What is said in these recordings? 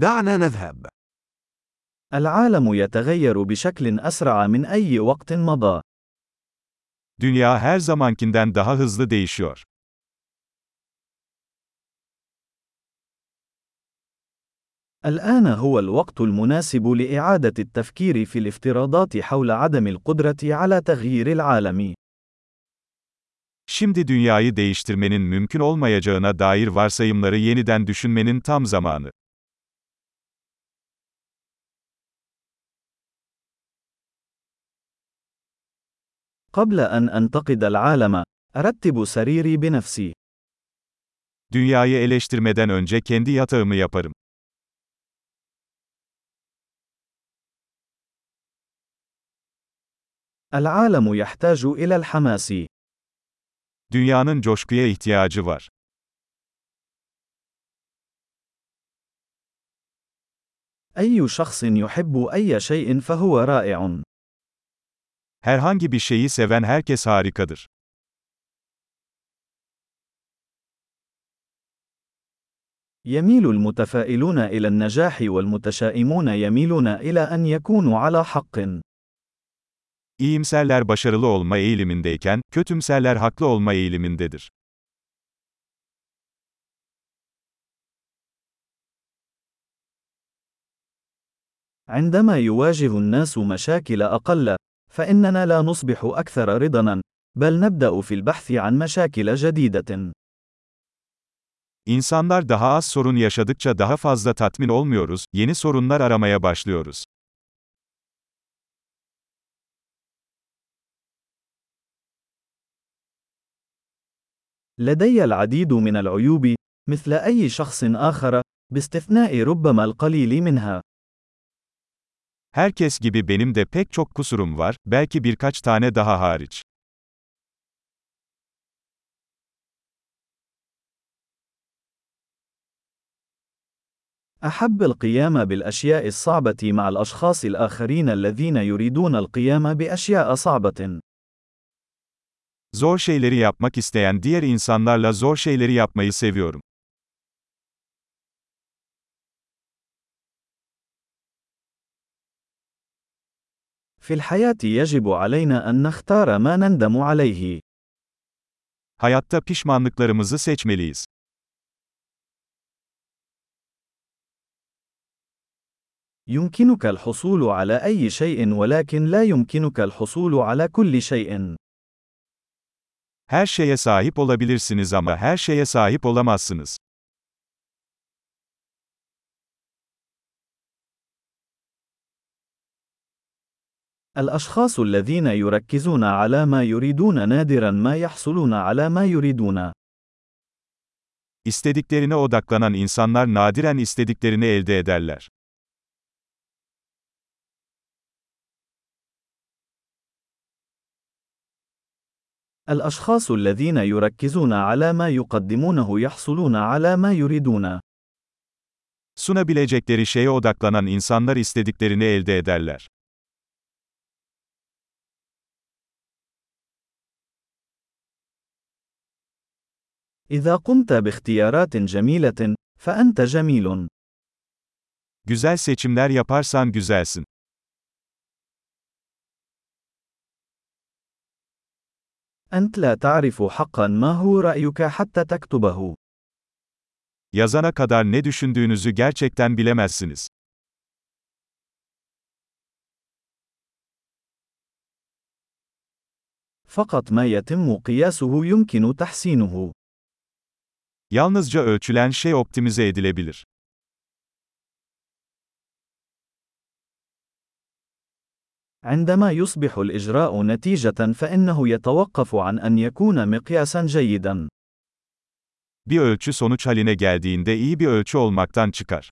دعنا نذهب. العالم يتغير بشكل أسرع من أي وقت مضى. Dünya her zamankinden daha hızlı değişiyor. الآن هو الوقت المناسب لإعادة التفكير في الافتراضات حول عدم القدرة على تغيير العالم. Şimdi dünyayı değiştirmenin mümkün olmayacağına dair varsayımları yeniden düşünmenin tam zamanı. قبل أن أنتقد العالم، أرتب سريري بنفسي. Dünyayı eleştirmeden önce kendi yatağımı yaparım. العالم يحتاج إلى الحماس. Dünyanın coşkuya ihtiyacı var. أي شخص يحب أي شيء فهو رائع. Herhangi bir şeyi seven herkes harikadır. يميل المتفائلون إلى النجاح والمتشائمون يميلون إلى أن يكونوا على حق. İyimserler başarılı olma eğilimindeyken, kötümserler haklı olma eğilimindedir. عندما يواجه الناس مشاكل أقل، فإننا لا نصبح أكثر رضاً، بل نبدأ في البحث عن مشاكل جديدة. İnsanlar daha az sorun yaşadıkça daha fazla tatmin olmuyoruz, yeni sorunlar aramaya başlıyoruz. لدي العديد من العيوب، مثل أي شخص آخر، باستثناء ربما القليل منها. Herkes gibi benim de pek çok kusurum var, belki birkaç tane daha hariç. أحب القيام بالأشياء الصعبة مع الأشخاص الآخرين الذين يريدون القيام بأشياء صعبة. Zor şeyleri yapmak isteyen diğer insanlarla zor şeyleri yapmayı seviyorum. في الحياة يجب علينا أن نختار ما نندم عليه. Hayatta pişmanlıklarımızı seçmeliyiz. يمكنك الحصول على أي شيء ولكن لا يمكنك الحصول على كل شيء. Her şeye sahip olabilirsiniz ama her şeye sahip olamazsınız. الأشخاص الذين يركزون على ما يريدون نادراً ما يحصلون على ما يريدون. İstediklerine odaklanan insanlar nadiren istediklerini elde ederler. الأشخاص الذين يركزون على ما يقدمونه يحصلون على ما يريدون. Sunabilecekleri şeye odaklanan insanlar istediklerini elde ederler. إذا قمت باختيارات جميلة، فأنت جميل. Güzel seçimler yaparsan güzelsin. أنت لا تعرف حقاً ما هو رأيك حتى تكتبه. Yazana kadar ne düşündüğünüzü gerçekten bilemezsiniz. فقط ما يتم قياسه يمكن تحسينه. Yalnızca ölçülen şey optimize edilebilir. عندما يصبح الإجراء نتيجة فإنه يتوقف عن أن يكون مقياساً جيداً. Bir ölçü sonuç haline geldiğinde iyi bir ölçü olmaktan çıkar.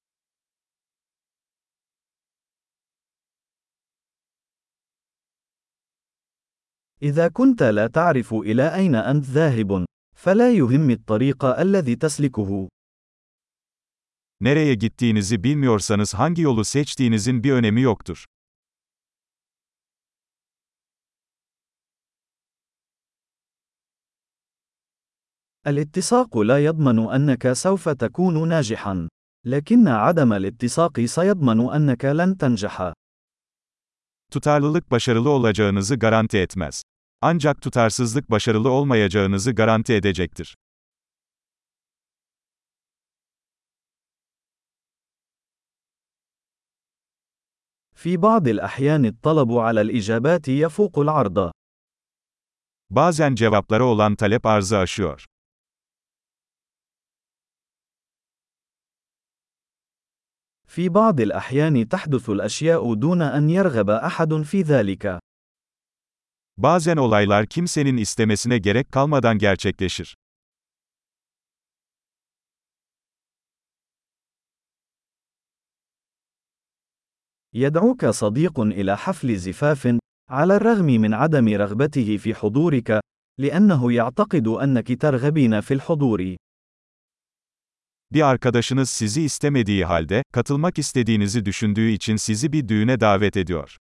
إذا كنت لا تعرف إلى أين أنت ذاهب، فلا يهم الطريق الذي تسلكه. Nereye gittiğinizi bilmiyorsanız hangi yolu seçtiğinizin bir önemi yoktur. الاتساق لا يضمن أنك سوف تكون ناجحاً. لكن عدم الاتساق سيضمن أنك لن تنجح. Tutarlılık başarılı olacağınızı garanti etmez. Ancak tutarsızlık başarılı olmayacağınızı garanti edecektir. في بعض الأحيان الطلب على الإجابات يفوق العرض. Bazen cevaplara olan talep arzı aşıyor. في بعض الأحيان تحدث الأشياء دون أن يرغب أحد في ذلك. Bazen olaylar kimsenin istemesine gerek kalmadan gerçekleşir. يدعوك صديق إلى حفل زفاف، على الرغم من عدم رغبته في حضورك، لأنه يعتقد أنك ترغبين في الحضور. Bir arkadaşınız sizi istemediği halde, katılmak istediğinizi düşündüğü için sizi bir düğüne davet ediyor.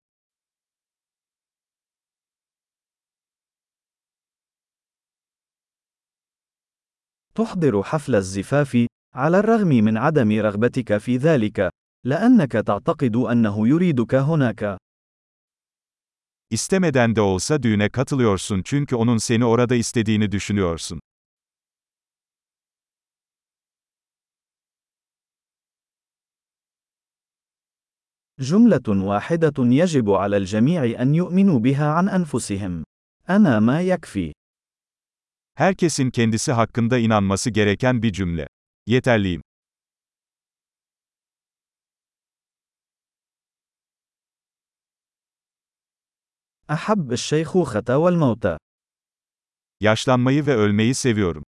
تحضر حفل الزفاف، على الرغم من عدم رغبتك في ذلك، لأنك تعتقد أنه يريدك هناك. İstemeden de olsa düğüne katılıyorsun çünkü onun seni orada istediğini düşünüyorsun. جملة واحدة يجب على الجميع أن يؤمنوا بها عن أنفسهم. أنا ما يكفي. Herkesin kendisi hakkında inanması gereken bir cümle. Yeterliyim. أحب الشيخوخة والموت. Yaşlanmayı ve ölmeyi seviyorum.